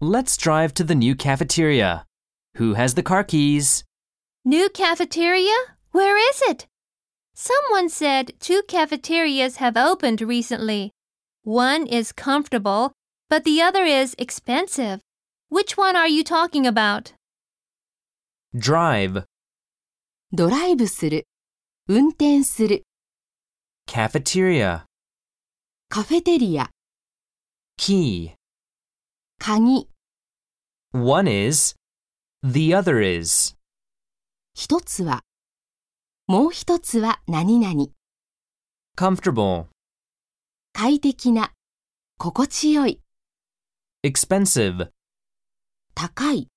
Let's drive to the new cafeteria. Who has the car keys? New cafeteria? Where is it? Someone said 2 cafeterias have opened recently. One is comfortable, but the other is expensive. Which one are you talking about? Drive. ドライブする。運転する。 Cafeteria. カフェテリア。 Key. 鍵。 One is. The other is. 一つは。もう一つは何々。 Comfortable. 快適な。心地よい。 Expensive. 高い。